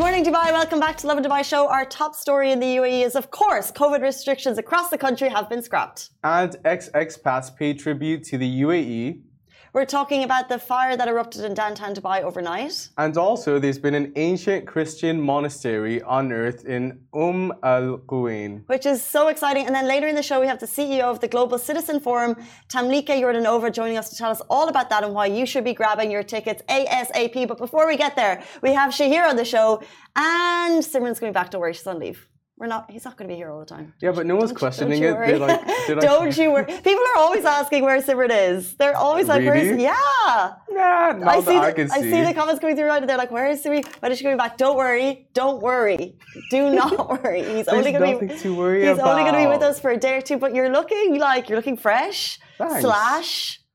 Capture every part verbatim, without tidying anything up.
morning, Dubai. Welcome back to Lovin Dubai Show. Our top story in the U A E is, of course, COVID restrictions across the country have been scrapped. And ex-expats pay tribute to the U A E. We're talking about the fire that erupted in downtown Dubai overnight. And also, there's been an ancient Christian monastery unearthed in Umm al-Quwain. Which is so exciting. And then later in the show, we have the C E O of the Global Citizen Forum, Tamlika Yordanova, joining us to tell us all about that and why you should be grabbing your tickets ASAP. But before we get there, we have Shahir on the show. And Simran's going back to work. She's on leave. We're not, he's not going to be here all the time. Yeah, but no one's don't, questioning don't it. Like, don't you worry. People are always asking where Simran is. They're always like, really? where's... Yeah. Nah, not I, see that the, I can see. I see the comments going through right and they're like, where is Siri? When is she coming back? Don't worry. Don't worry. Do not worry. He's There's only going nothing to be, to worry he's about. only going to be with us for a day or two, but you're looking like, you're looking fresh. Thanks. Slash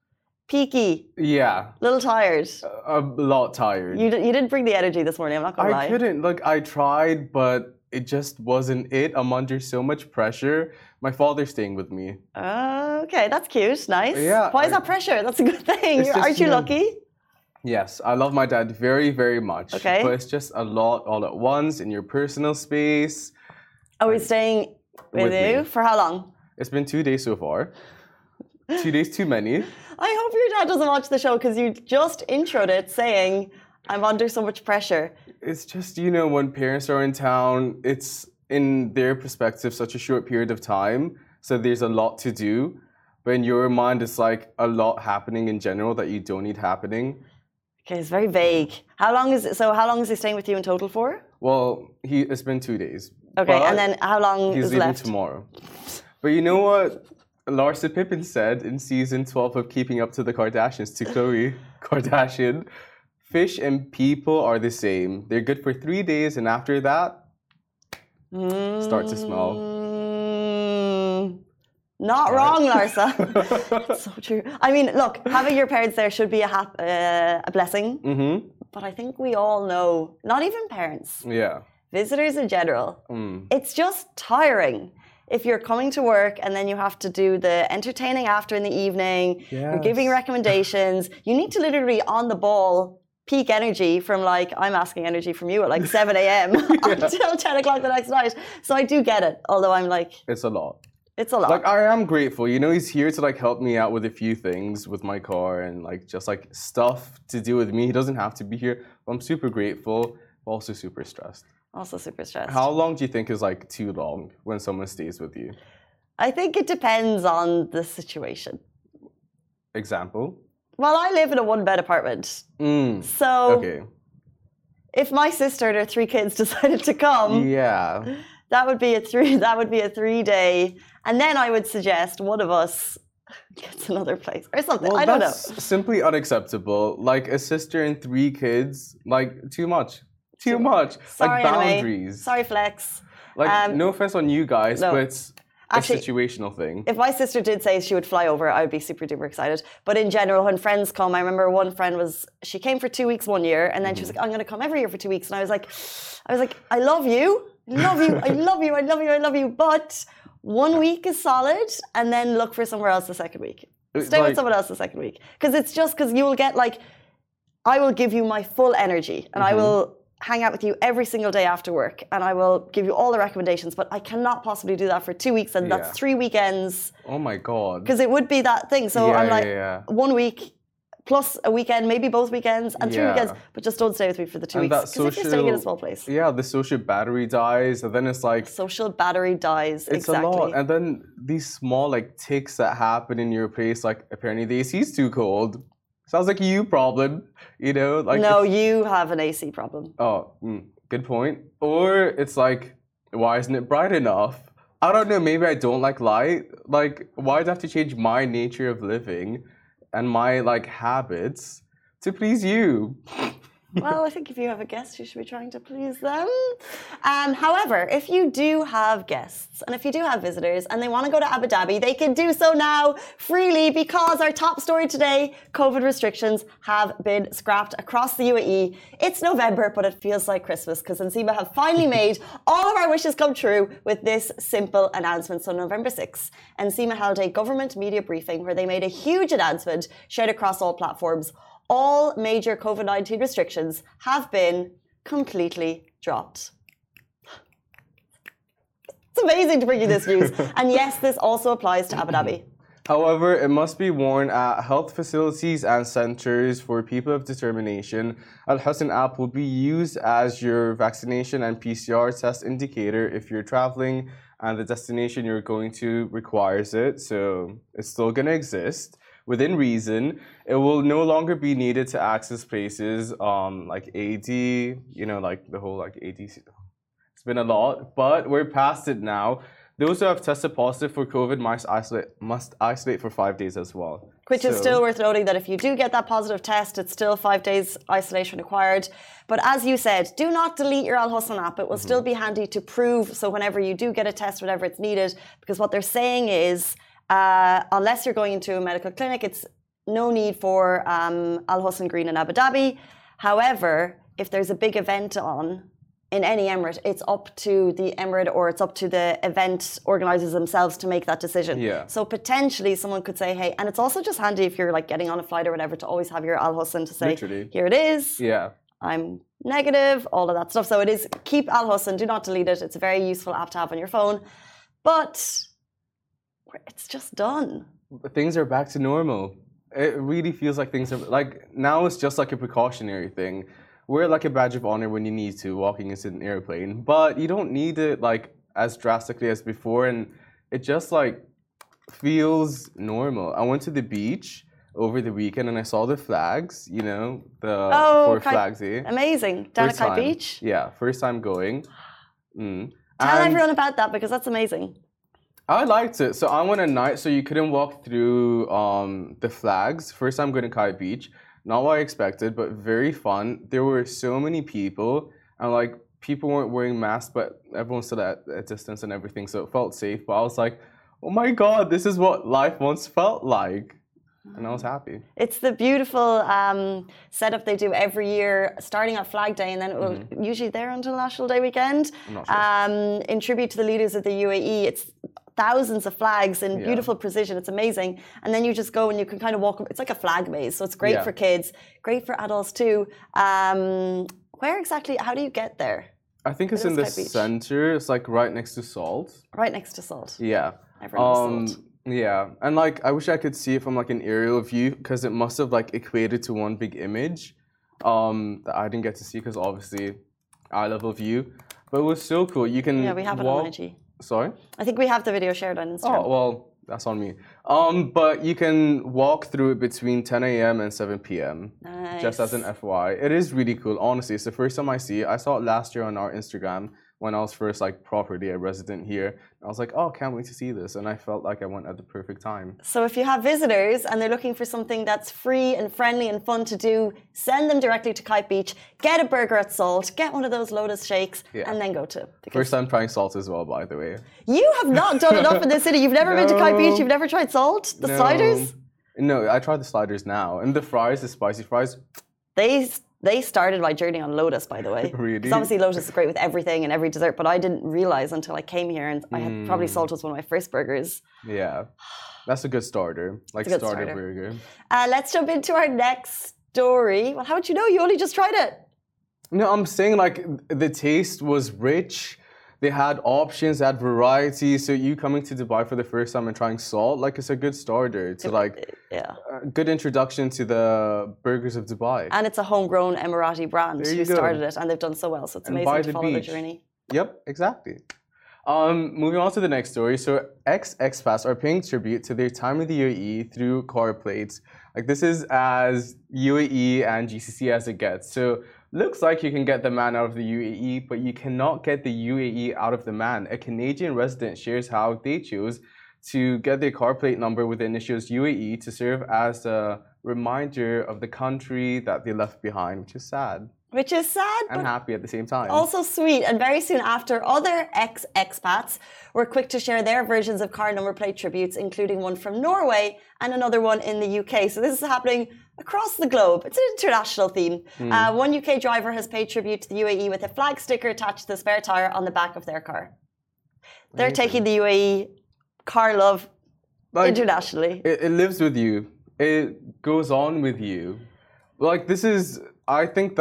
peaky. Yeah. A little tired. A, a lot tired. You, you didn't bring the energy this morning, I'm not going to lie. I couldn't. Like, I tried, but it just wasn't it. I'm under so much pressure. My father's staying with me. Uh, okay, that's cute. Nice. Yeah. Why is I, that pressure? That's a good thing. just, Aren't you you know, lucky? Yes, I love my dad very, very much. Okay. But it's just a lot all at once in your personal space. Are we staying with, With you? me. For how long? It's been two days so far. Two days too many. I hope your dad doesn't watch the show because you just introed it saying, I'm under so much pressure. It's just, you know, when parents are in town, it's in their perspective such a short period of time. So there's a lot to do. But in your mind, it's like a lot happening in general that you don't need happening. Okay, it's very vague. How long is it? So how long is he staying with you in total for? Well, he it's been two days. Okay, But and then how long he's is leaving left? tomorrow. But you know what Larsa Pippen said in season twelve of Keeping Up to the Kardashians to Khloe Kardashian? Fish and people are the same. They're good for three days, and after that, Mm, start to smell. Not Right. wrong, Larsa. It's so true. I mean, look, having your parents there should be a, hap- uh, a blessing. Mm-hmm. But I think we all know, not even parents, Yeah. visitors in general, Mm. it's just tiring. If you're coming to work and then you have to do the entertaining after in the evening, you're giving Yes. recommendations, you need to literally on the ball peak energy from like, I'm asking energy from you at like seven a.m. until ten o'clock the next night. So I do get it, although I'm like, It's a lot. it's a lot. Like, I am grateful. You know, he's here to like help me out with a few things with my car and like just like stuff to do with me. He doesn't have to be here. I'm super grateful, but also super stressed. Also super stressed. How long do you think is like too long when someone stays with you? I think it depends on the situation. Example? Well, I live in a one-bed apartment. Mm. So Okay. if my sister and her three kids decided to come, Yeah. that would be a three that would be a three-day. And then I would suggest one of us gets another place or something. Well, I don't know. that's simply unacceptable. Like a sister and three kids, like too much. Too much. Sorry, like boundaries. Anime. Sorry, Flex. Like, Um, no offense on you guys, no. but it's Actually, a situational thing. If my sister did say she would fly over, I would be super duper excited. But in general, when friends come, I remember one friend was, she came for two weeks one year, and then she was like, I'm going to come every year for two weeks. And I was like, I was like, I love you. I love you. I love you. I love you. I love you. But one week is solid, and then look for somewhere else the second week. Stay like, with someone else the second week. Because it's just because you will get like, I will give you my full energy, and mm-hmm. I will hang out with you every single day after work, and I will give you all the recommendations, but I cannot possibly do that for two weeks, and Yeah. that's three weekends. Oh my God. Because it would be that thing. So Yeah, I'm like, yeah, yeah. one week plus a weekend, maybe both weekends, and three Yeah. weekends, but just don't stay with me for the two And weeks. that Because if you're staying in a social- small place, Yeah, the social battery dies, and then it's like, social battery dies. it's exactly. a lot. And then these small like ticks that happen in your place, like apparently the A C's too cold. Sounds like a you problem, you know? Like no, it's- you have an A C problem. Oh, mm, good point. Or it's like, why isn't it bright enough? I don't know, maybe I don't like light. Like, why do I have to change my nature of living and my like habits to please you? Well, I think if you have a guest, you should be trying to please them. Um, however, if you do have guests and if you do have visitors and they want to go to Abu Dhabi, they can do so now freely because our top story today, COVID restrictions have been scrapped across the U A E. It's November, but it feels like Christmas because Nsima have finally made all of our wishes come true with this simple announcement. So November sixth, Nsima held a government media briefing where they made a huge announcement shared across all platforms. All major COVID nineteen restrictions have been completely dropped. It's amazing to bring you this news. And yes, this also applies to Abu Dhabi. However, it must be worn at health facilities and centers for people of determination. Al Husn app will be used as your vaccination and P C R test indicator if you're traveling and the destination you're going to requires it. So it's still going to exist within reason. It will no longer be needed to access places um, like A D, you know, like the whole like A D. It's been a lot, but we're past it now. Those who have tested positive for COVID must isolate, must isolate for five days as well. Which so, is still worth noting that if you do get that positive test, it's still five days isolation required. But as you said, do not delete your Al Husn app. It will mm-hmm. still be handy to prove. So whenever you do get a test, whenever it's needed, because what they're saying is, uh, unless you're going into a medical clinic, it's no need for um, Al Husn Green in Abu Dhabi. However, if there's a big event on, in any emirate, it's up to the emirate or it's up to the event organizers themselves to make that decision. Yeah. So potentially someone could say, hey, and it's also just handy if you're like getting on a flight or whatever to always have your Al Husn to say, Literally. Here it is. Yeah. I'm negative, all of that stuff. So it is, keep Al Husn, do not delete it. It's a very useful app to have on your phone. But it's just done. Things are back to normal. It really feels like things are, like now it's just like a precautionary thing. Wear like a badge of honor when you need to, walking into an airplane, but you don't need it like as drastically as before, and it just like feels normal. I went to the beach over the weekend and I saw the flags, you know, the oh, four Kai, flags. Eh? Amazing. Down at Kai Beach? Yeah, first time going. Mm. Tell and everyone about that because that's amazing. I liked it. So I went at night, so you couldn't walk through um, the flags. First time going to Kai Beach. Not what I expected, but very fun. There were so many people, and like people weren't wearing masks, but everyone stood at a distance and everything, so it felt safe. But I was like, oh my god, this is what life once felt like. And I was happy. It's the beautiful um, setup they do every year, starting at Flag Day, and then it will mm-hmm. usually there until National Day weekend. I'm not sure. Um, in tribute to the leaders of the U A E, it's thousands of flags in yeah. beautiful precision. It's amazing. And then you just go and you can kind of walk. It's like a flag maze, so it's great yeah. for kids, great for adults too. Um, where exactly? How do you get there? I think it's in the center. It's like right next to Salt. Right next to Salt. Yeah. Everyone um, Salt. Yeah, and like I wish I could see it from like an aerial view because it must have like equated to one big image um, that I didn't get to see because obviously eye level view. But it was so cool. You can yeah, we have walk... it on I G. Sorry? I think we have the video shared on Instagram. Oh, well, that's on me. Um, but you can walk through it between ten a m and seven p m Nice. Just as an F Y I. It is really cool, honestly. It's the first time I see it. I saw it last year on our Instagram when I was first like properly a resident here. I was like, oh, can't wait to see this. And I felt like I went at the perfect time. So if you have visitors and they're looking for something that's free and friendly and fun to do, send them directly to Kite Beach, get a burger at Salt, get one of those Lotus shakes, yeah. and then go to. First time trying Salt as well, by the way. You have not done enough in this city. You've never no. been to Kite Beach? You've never tried Salt? The no. sliders? No, I tried the sliders now. And the fries, the spicy fries. They... They started my journey on Lotus, by the way. Really? Because obviously Lotus is great with everything and every dessert, but I didn't realize until I came here and I had mm. probably Salt was one of my first burgers. Yeah, that's a good starter, like good starter, starter burger. Uh, let's jump into our next story. Well, how would you know? You only just tried it. No, I'm saying like the taste was rich. They had options, they had variety. So you coming to Dubai for the first time and trying Salt, like it's a good starter to like, yeah, a good introduction to the burgers of Dubai. And it's a homegrown Emirati brand who started it, and they've done so well. So it's and amazing to the follow beach. the journey. Yep, exactly. Um, moving on to the next story. So ex-expats are paying tribute to their time in the U A E through car plates. Like this is as U A E and G C C as it gets. So looks like you can get the man out of the U A E, but you cannot get the U A E out of the man. A Canadian resident shares how they chose to get their car plate number with the initials U A E to serve as a reminder of the country that they left behind, which is sad. Which is sad, and happy at the same time. Also sweet. And very soon after, other ex-expats were quick to share their versions of car number plate tributes, including one from Norway and another one in the U K. So this is happening across the globe. It's an international theme. Mm. Uh, one U K driver has paid tribute to the U A E with a flag sticker attached to the spare tire on the back of their car. They're Amazing. Taking the U A E car love like, internationally. It, it lives with you. It goes on with you. Like this is, I think that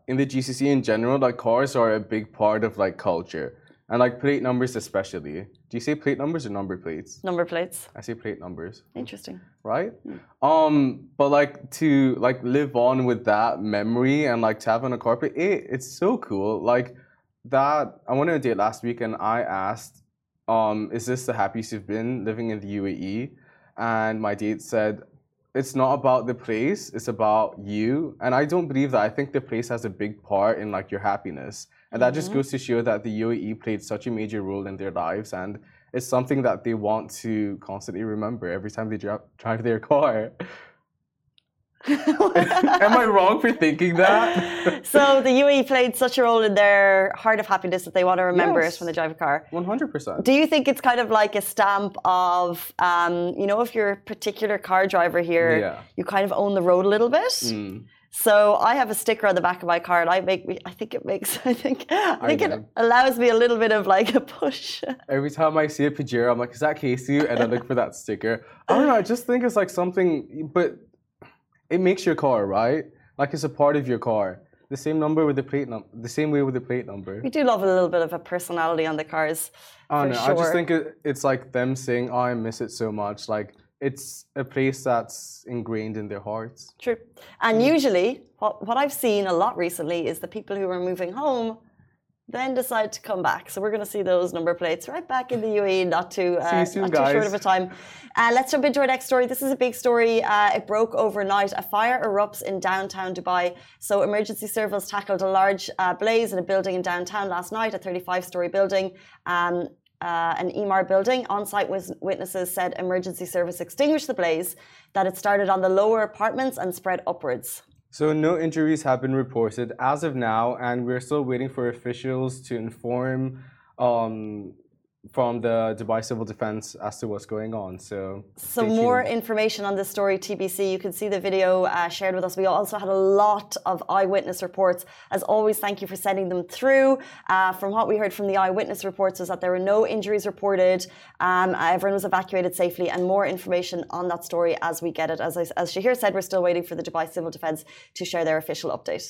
in the G C C in general, like cars are a big part of like culture and like plate numbers especially. Do you say plate numbers or number plates? Number plates. I say plate numbers. Interesting. Right? Mm. Um, but like to like live on with that memory and like to have on a carpet, it, it's so cool. Like that, I went on a date last week and I asked, um, is this the happiest you've been living in the U A E? And my date said, it's not about the place, it's about you. And I don't believe that. I think the place has a big part in like your happiness. And that mm-hmm. just goes to show that the U A E played such a major role in their lives. And it's something that they want to constantly remember every time they drive, drive their car. Am I wrong for thinking that? So the U A E played such a role in their heart of happiness that they want to remember yes. it when they drive a car. one hundred percent. Do you think it's kind of like a stamp of, um, you know, if you're a particular car driver here, yeah. you kind of own the road a little bit? Mm. So I have a sticker on the back of my car, and I make me. I think it makes. I think. I think I it allows me a little bit of like a push. Every time I see a Pajero, I'm like, "Is that Casey?" And I look for that sticker. I don't know. I just think it's like something, but it makes your car, right? Like it's a part of your car. The same number with the plate number. The same way with the plate number. We do love a little bit of a personality on the cars. I don't know. Sure. I just think it, it's like them saying, "Oh, I miss it so much." Like. It's a place that's ingrained in their hearts. True. And mm. usually, what, what I've seen a lot recently is the people who are moving home then decide to come back. So we're going to see those number plates right back in the U A E, not too, uh, see you soon, not guys. too short of a time. Uh, let's jump into our next story. This is a big story. Uh, it broke overnight. A fire erupts in downtown Dubai. So emergency service tackled a large uh, blaze in a building in downtown last night, a thirty-five story building. Um, Uh, an Emaar building. On-site witnesses said emergency service extinguished the blaze, that it started on the lower apartments and spread upwards. So no injuries have been reported as of now, and we're still waiting for officials to inform um, from the Dubai Civil Defense as to what's going on. So, so more information on this story, T B C. You can see the video uh, shared with us. We also had a lot of eyewitness reports. As always, thank you for sending them through. Uh, from what we heard from the eyewitness reports is that there were no injuries reported. Um, everyone was evacuated safely, and more information on that story as we get it. As, I, as Shahir said, we're still waiting for the Dubai Civil Defense to share their official update.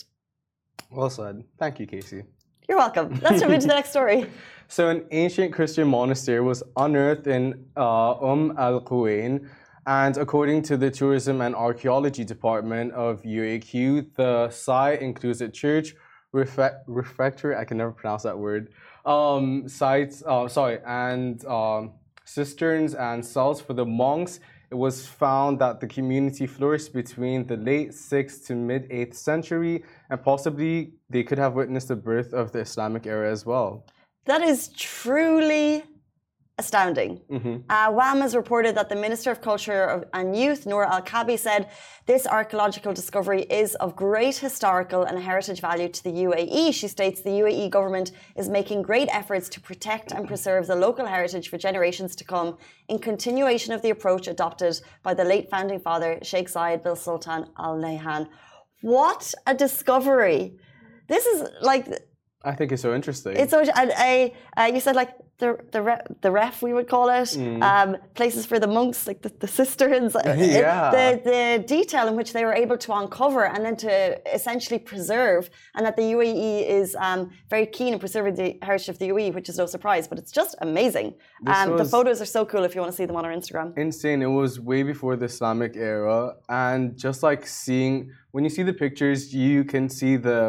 Well said. Thank you, Casey. You're welcome. Let's jump into the next story. So an ancient Christian monastery was unearthed in uh, Umm al-Quwain, and according to the Tourism and Archaeology Department of U A Q, the site includes a church, refect refectory, I can never pronounce that word, um, sites, uh, sorry, and um, cisterns and cells for the monks. It was found that the community flourished between the late sixth to mid eighth century, and possibly they could have witnessed the birth of the Islamic era as well. That is truly astounding. Mm-hmm. uh, W A M has reported that the Minister of Culture and Youth, Noor Al-Kabi, said this archaeological discovery is of great historical and heritage value to the U A E. She states the U A E government is making great efforts to protect and preserve the local heritage for generations to come, in continuation of the approach adopted by the late founding father, Sheikh Zayed bin Sultan Al Nahyan. What a discovery! This is like... I think it's so interesting. It's so, and I, uh, you said like the the ref, the ref we would call it, mm. um, places for the monks, like the, the cisterns. Yeah. It, the the detail in which they were able to uncover and then to essentially preserve, and that the U A E is um, very keen in preserving the heritage of the U A E, which is no surprise, but it's just amazing. Um, the photos are so cool if you want to see them on our Instagram. Insane. It was way before the Islamic era, and just like seeing, when you see the pictures, you can see the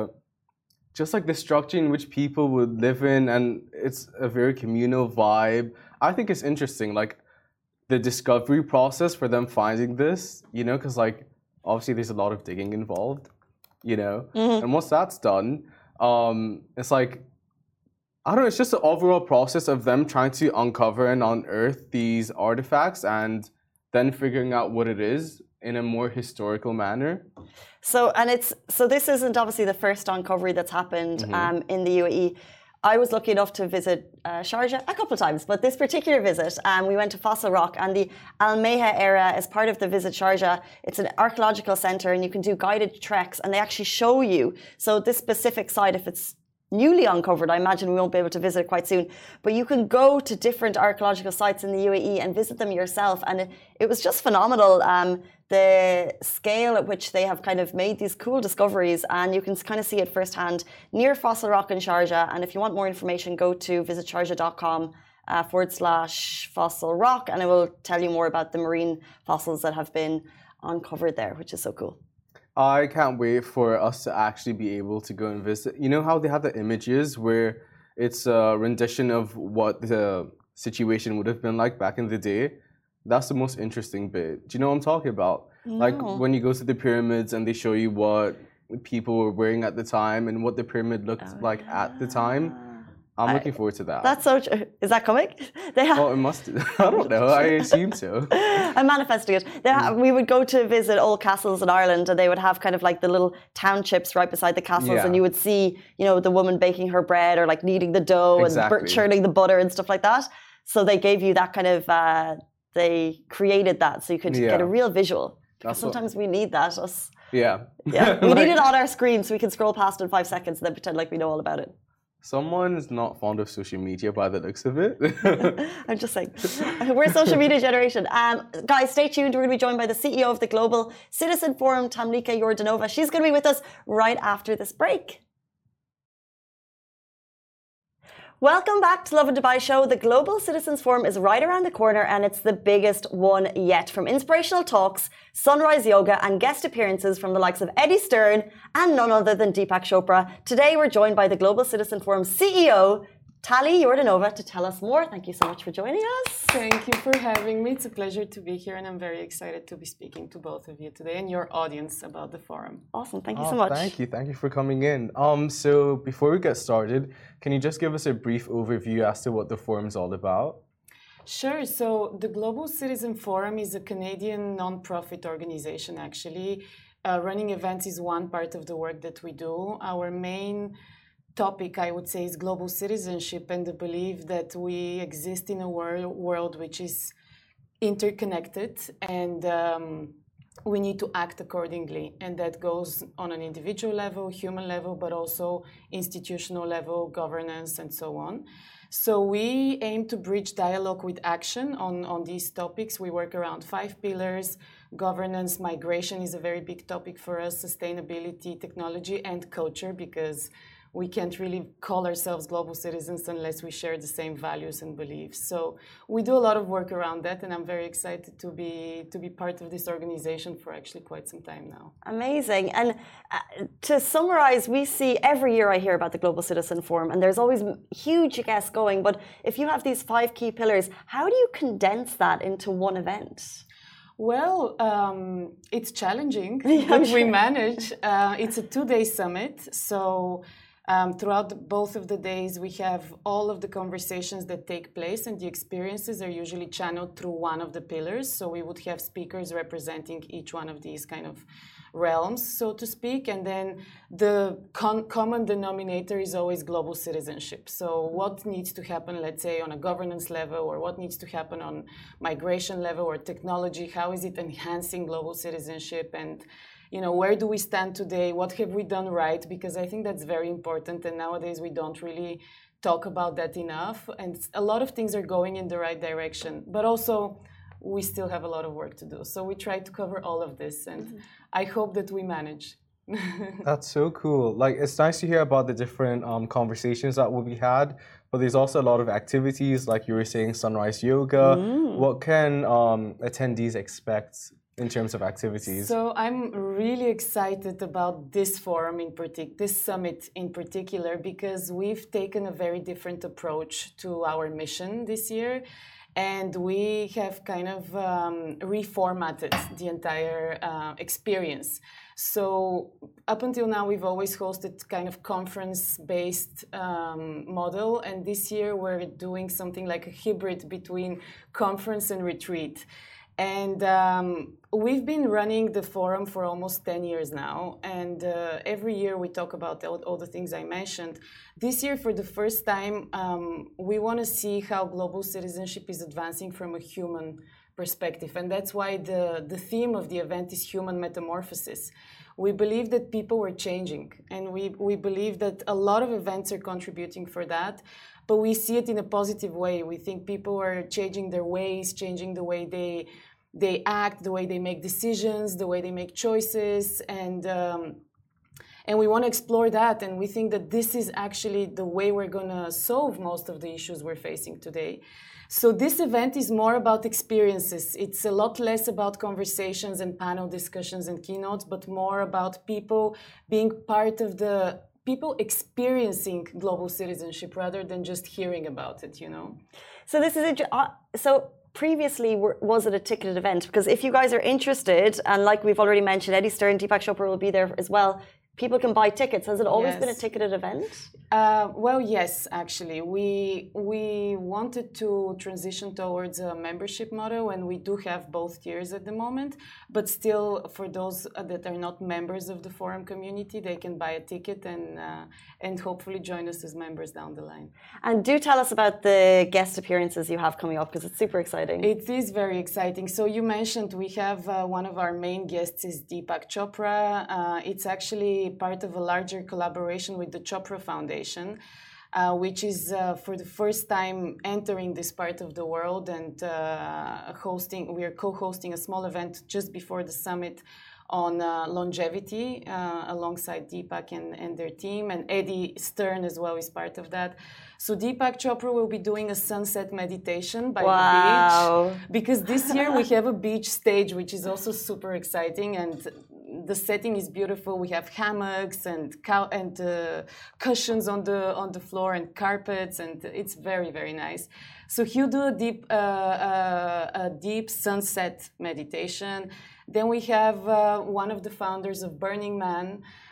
just like the structure in which people would live in, and it's a very communal vibe. I think it's interesting, like the discovery process for them finding this, you know, because like obviously there's a lot of digging involved, you know, mm-hmm. and once that's done, um, it's like, I don't know, it's just the overall process of them trying to uncover and unearth these artifacts and then figuring out what it is in a more historical manner. So, and it's, so this isn't obviously the first uncovery that's happened mm-hmm. um, in the U A E. I was lucky enough to visit uh, Sharjah a couple of times, but this particular visit, um, we went to Fossil Rock, and the Al Meha area as part of the Visit Sharjah. It's an archaeological centre, and you can do guided treks, and they actually show you. So this specific site, if it's newly uncovered, I imagine we won't be able to visit it quite soon, but you can go to different archaeological sites in the U A E and visit them yourself, and it, it was just phenomenal um, the scale at which they have kind of made these cool discoveries, and you can kind of see it firsthand near Fossil Rock in Sharjah. And if you want more information, go to visit sharjah dot com uh, forward slash fossil rock, and it will tell you more about the marine fossils that have been uncovered there, which is so cool. I can't wait for us to actually be able to go and visit. You know how they have the images where it's a rendition of what the situation would have been like back in the day? That's the most interesting bit. Do you know what I'm talking about? No. Like when you go to the pyramids and they show you what people were wearing at the time and what the pyramid looked Oh, like yeah. at the time. I'm I- looking forward to that. That's so true. Is that coming? They have. Well, it must. I don't know. I assume so. I'm manifesting it. They ha- we would go to visit old castles in Ireland, and they would have kind of like the little townships right beside the castles, Yeah. and you would see, you know, the woman baking her bread or like kneading the dough and Exactly. bur- churning the butter and stuff like that. So they gave you that kind of. Uh, they created that so you could Yeah. get a real visual. Because That's what- sometimes we need that. Us. Yeah. Yeah, we Like, need it on our screen so we can scroll past in five seconds and then pretend like we know all about it. Someone's not fond of social media by the looks of it. I'm just saying. We're a social media generation. Um, guys, stay tuned. We're going to be joined by the C E O of the Global Citizen Forum, Tamlika Yordanova. She's going to be with us right after this break. Welcome back to Lovin Dubai Show. The Global Citizens Forum is right around the corner, and it's the biggest one yet. From inspirational talks, sunrise yoga, and guest appearances from the likes of Eddie Stern and none other than Deepak Chopra. Today, we're joined by the Global Citizen Forum C E O, Tali Yordanova, to tell us more. Thank you so much for joining us. Thank you for having me. It's a pleasure to be here, and I'm very excited to be speaking to both of you today and your audience about the forum. Awesome. Thank you Oh, so much. Thank you. Thank you for coming in. Um, so before we get started, can you just give us a brief overview as to what the forum's all about? Sure. So the Global Citizen Forum is a Canadian non-profit organization, actually. Uh, running events is one part of the work that we do. Our main topic, I would say, is global citizenship and the belief that we exist in a world, world which is interconnected, and um, we need to act accordingly. And that goes on an individual level, human level, but also institutional level, governance, and so on. So we aim to bridge dialogue with action on, on these topics. We work around five pillars. Governance, migration is a very big topic for us, sustainability, technology, and culture, because we can't really call ourselves global citizens unless we share the same values and beliefs. So we do a lot of work around that, and I'm very excited to be to be part of this organization for actually quite some time now. Amazing. And uh, to summarize, we see every year I hear about the Global Citizen Forum, and there's always m- huge guests going. But if you have these five key pillars, how do you condense that into one event? Well, um, it's challenging, Yeah, but I'm we sure. manage. Uh, it's a two-day summit, so um, throughout the, both of the days, we have all of the conversations that take place, and the experiences are usually channeled through one of the pillars. So we would have speakers representing each one of these kind of realms, so to speak, and then the con- common denominator is always global citizenship. So what needs to happen, let's say, on a governance level, or what needs to happen on migration level or technology? How is it enhancing global citizenship? And you know, where do we stand today? What have we done right? Because I think that's very important, and nowadays we don't really talk about that enough. And a lot of things are going in the right direction, but also we still have a lot of work to do. So we try to cover all of this, and mm-hmm. I hope that we manage. That's so cool. Like, it's nice to hear about the different um, conversations that will be had, but there's also a lot of activities, like you were saying, sunrise yoga. Mm. What can um, attendees expect in terms of activities? So I'm really excited about this forum in particular, this summit in particular, because we've taken a very different approach to our mission this year. And we have kind of um, reformatted the entire uh, experience. So up until now, we've always hosted kind of conference-based um, model. And this year, we're doing something like a hybrid between conference and retreat. And um, we've been running the forum for almost ten years now. And uh, every year we talk about all, all the things I mentioned. This year, for the first time, um, we want to see how global citizenship is advancing from a human perspective. And that's why the, the theme of the event is human metamorphosis. We believe that people were changing. And we, we believe that a lot of events are contributing for that. But we see it in a positive way. We think people are changing their ways, changing the way they they act, the way they make decisions, the way they make choices, and um, and we want to explore that. And we think that this is actually the way we're going to solve most of the issues we're facing today. So this event is more about experiences. It's a lot less about conversations and panel discussions and keynotes, but more about people being part of the people experiencing global citizenship rather than just hearing about it, you know. So this is a, uh, so previously was it a ticketed event? Because if you guys are interested, and like we've already mentioned, Eddie Stern, Deepak Chopra will be there as well. People can buy tickets. Has it always Yes. been a ticketed event? Uh, well, yes, actually. We we wanted to transition towards a membership model, and we do have both tiers at the moment. But still, for those that are not members of the forum community, they can buy a ticket and uh, and hopefully join us as members down the line. And do tell us about the guest appearances you have coming up, because it's super exciting. It is very exciting. So you mentioned we have uh, one of our main guests is Deepak Chopra. Uh, it's actually part of a larger collaboration with the Chopra Foundation, uh, which is uh, for the first time entering this part of the world and uh, hosting. We are co-hosting a small event just before the summit on uh, longevity uh, alongside Deepak and, and their team, and Eddie Stern as well is part of that. So Deepak Chopra will be doing a sunset meditation by Wow. the beach, because this year we have a beach stage, which is also super exciting, and the setting is beautiful. We have hammocks and cow and uh, cushions on the on the floor and carpets, and it's very very nice. So he'll do a deep uh, uh, a deep sunset meditation. Then we have uh, one of the founders of Burning Man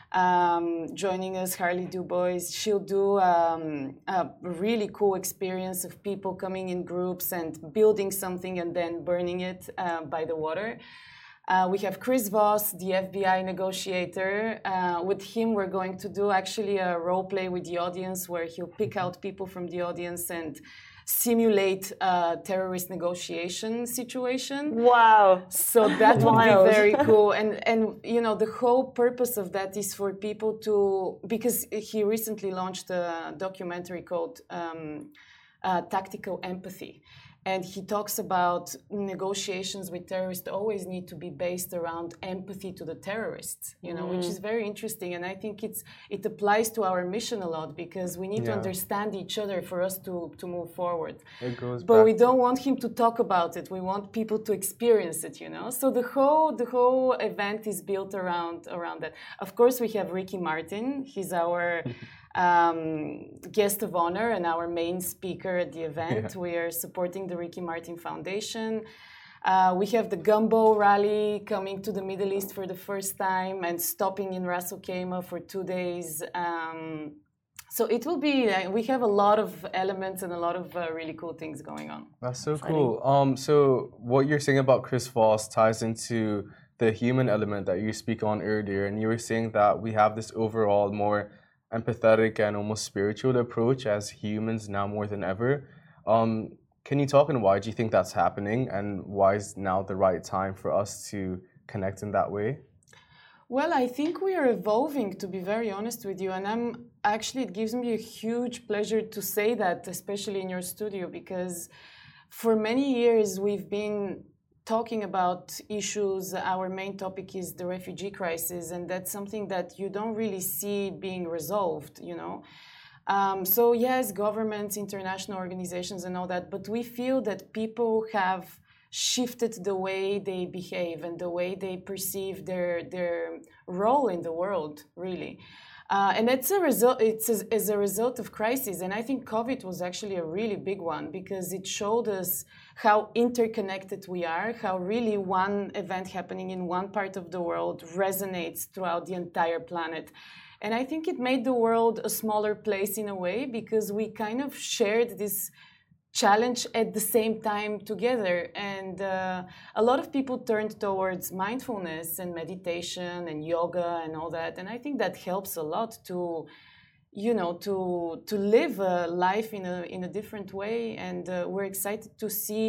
um, joining us, Harley Dubois. She'll do um, a really cool experience of people coming in groups and building something and then burning it uh, by the water. Uh, we have Chris Voss, the F B I negotiator. Uh, with him, we're going to do actually a role play with the audience where he'll pick out people from the audience and simulate a terrorist negotiation situation. Wow. So that would be Wild. very cool. And, and, you know, the whole purpose of that is for people to, because he recently launched a documentary called um, uh, Tactical Empathy. And he talks about negotiations with terrorists always need to be based around empathy to the terrorists, you know, mm. which is very interesting. And I think it's it applies to our mission a lot, because we need Yeah. to understand each other for us to, to move forward. It goes But back we to- don't want him to talk about it. We want people to experience it, you know. So the whole the whole event is built around around that. Of course, we have Ricky Martin. He's our Um, guest of honor and our main speaker at the event. Yeah. We are supporting the Ricky Martin Foundation. Uh, we have the Gumbo Rally coming to the Middle East for the first time and stopping in Ras Al Khaimah for two days. Um, so it will be, uh, we have a lot of elements and a lot of uh, really cool things going on. That's so cool. Um, so what you're saying about Chris Voss ties into the human element that you speak on earlier, and you were saying that we have this overall more empathetic and almost spiritual approach as humans now more than ever. Um, can you talk on why do you think that's happening, and why is now the right time for us to connect in that way? Well, I think we are evolving, to be very honest with you. And I'm actually, it gives me a huge pleasure to say that, especially in your studio, because for many years we've been talking about issues. Our main topic is the refugee crisis, and that's something that you don't really see being resolved, you know. Um, so yes, governments, international organizations and all that, but we feel that people have shifted the way they behave and the way they perceive their, their role in the world, really. Uh, and it's a result. It's as, as a result of crisis, and I think COVID was actually a really big one, because it showed us how interconnected we are, how really one event happening in one part of the world resonates throughout the entire planet. And I think it made the world a smaller place in a way, because we kind of shared this challenge at the same time together. And uh, a lot of people turned towards mindfulness and meditation and yoga and all that. And I think that helps a lot to, you know, to to live a life in a in a different way. And uh, we're excited to see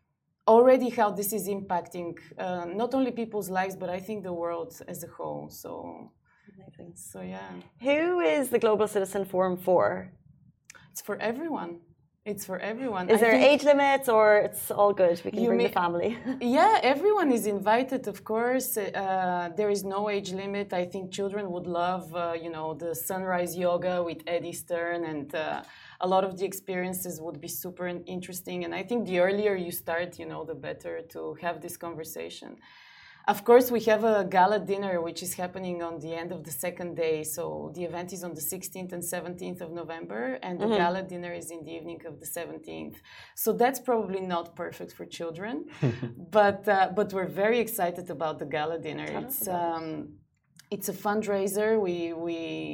already how this is impacting uh, not only people's lives, but I think the world as a whole. So, Amazing. So yeah. Who is the Global Citizen Forum for? It's for everyone. It's for everyone. Is I there think- age limits or it's all good? We can You bring may- the family. Yeah, everyone is invited, of course. Uh, there is no age limit. I think children would love, uh, you know, the sunrise yoga with Eddie Stern, and uh, a lot of the experiences would be super in- interesting. And I think the earlier you start, you know, the better to have this conversation. Of course, we have a gala dinner, which is happening on the end of the second day. So the event is on the sixteenth and seventeenth of November, and the Mm-hmm. gala dinner is in the evening of the seventeenth. So that's probably not perfect for children, but uh, but we're very excited about the gala dinner. Tell us It's about um, it's a fundraiser. We we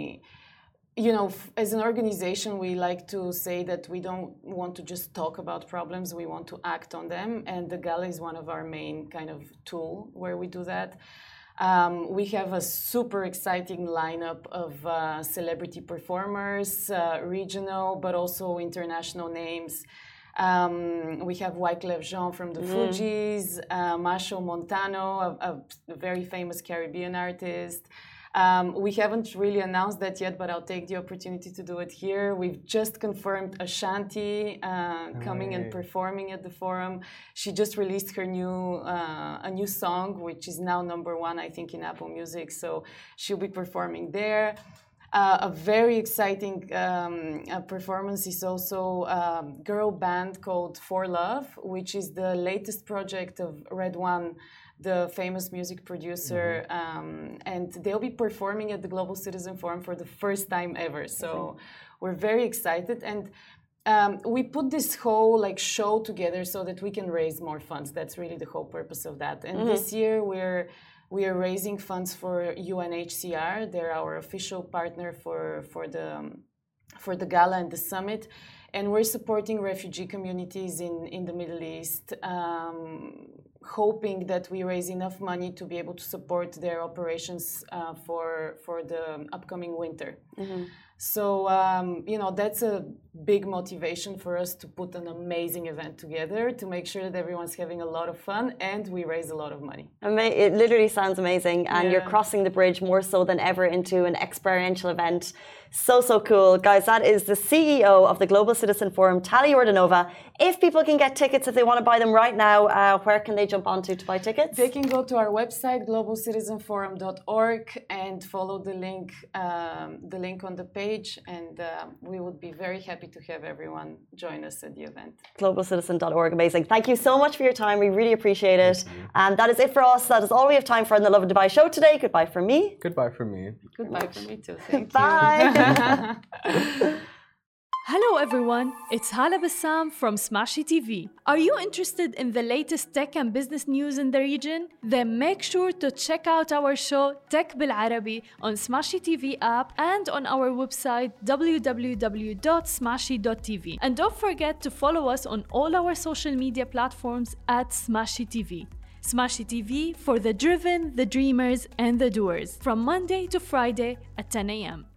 you know, f- as an organization, we like to say that we don't want to just talk about problems, we want to act on them. And the gala is one of our main kind of tool where we do that. Um, we have a super exciting lineup of uh, celebrity performers, uh, regional, but also international names. Um, we have Wyclef Jean from the Fugees, uh, Masho Montano, a, a very famous Caribbean artist. Um, we haven't really announced that yet, but I'll take the opportunity to do it here. We've just confirmed Ashanti uh, coming and Right. performing at the forum. She just released her new uh, a new song, which is now number one, I think, in Apple Music. So she'll be performing there. Uh, a very exciting um, uh, performance is also a girl band called For Love, which is the latest project of Red One, the famous music producer, um, and they'll be performing at the Global Citizen Forum for the first time ever. So we're very excited, and um, we put this whole like show together so that we can raise more funds. That's really the whole purpose of that. And this year we're we are raising funds for U N H C R. They're our official partner for for the for the gala and the summit. And we're supporting refugee communities in, in the Middle East, um, hoping that we raise enough money to be able to support their operations uh, for, for the upcoming winter. Mm-hmm. So, um, you know, that's a big motivation for us to put an amazing event together to make sure that everyone's having a lot of fun and we raise a lot of money. Ama- It literally sounds amazing, and Yeah. you're crossing the bridge more so than ever into an experiential event. So, so cool. Guys, that is the C E O of the Global Citizen Forum, Tali Yordanova. If people can get tickets, if they want to buy them right now, uh, where can they jump onto to buy tickets? They can go to our website, global citizen forum dot org, and follow the link, um, the link on the page, and uh, we would be very happy to have everyone join us at the event. global citizen dot org. Amazing. Thank you so much for your time. We really appreciate it. And that is it for us. That is all we have time for in the Love of Dubai show today. Goodbye from me. Goodbye from me. Goodbye from me too. Thank Bye. you. Hello everyone, it's Hala Bassam from Smashy T V. Are you interested in the latest tech and business news in the region? Then make sure to check out our show Tech Bil Arabi on Smashy T V app and on our website w w w dot smashy dot t v. And don't forget to follow us on all our social media platforms at Smashy T V. Smashy T V for the driven, the dreamers, and the doers from Monday to Friday at ten a m